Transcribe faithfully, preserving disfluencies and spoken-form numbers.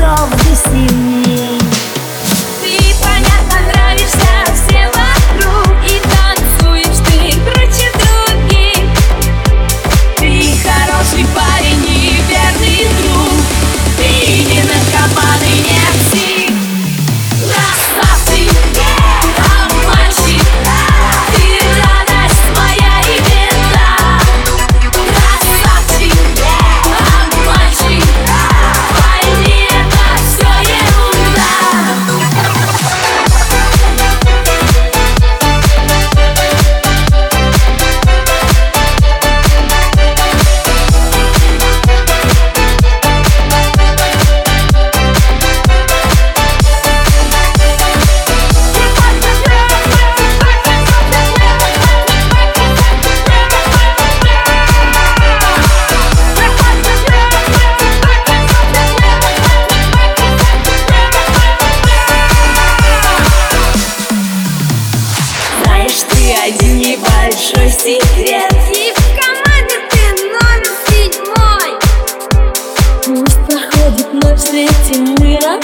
снова ты сильней. Ты, понятно, нравишься всем вокруг, и танцуешь ты круче других. Ты хороший парень и верный друг, ты не наркоман и не псих. Красавчик, обманщик, ты радость моя и беда. Красавчик, обманщик, пойми, это все ерунда. Знаешь, ты один небольшой секрет, и в команде ты номер седьмой. Пусть проходит ночь, среди мира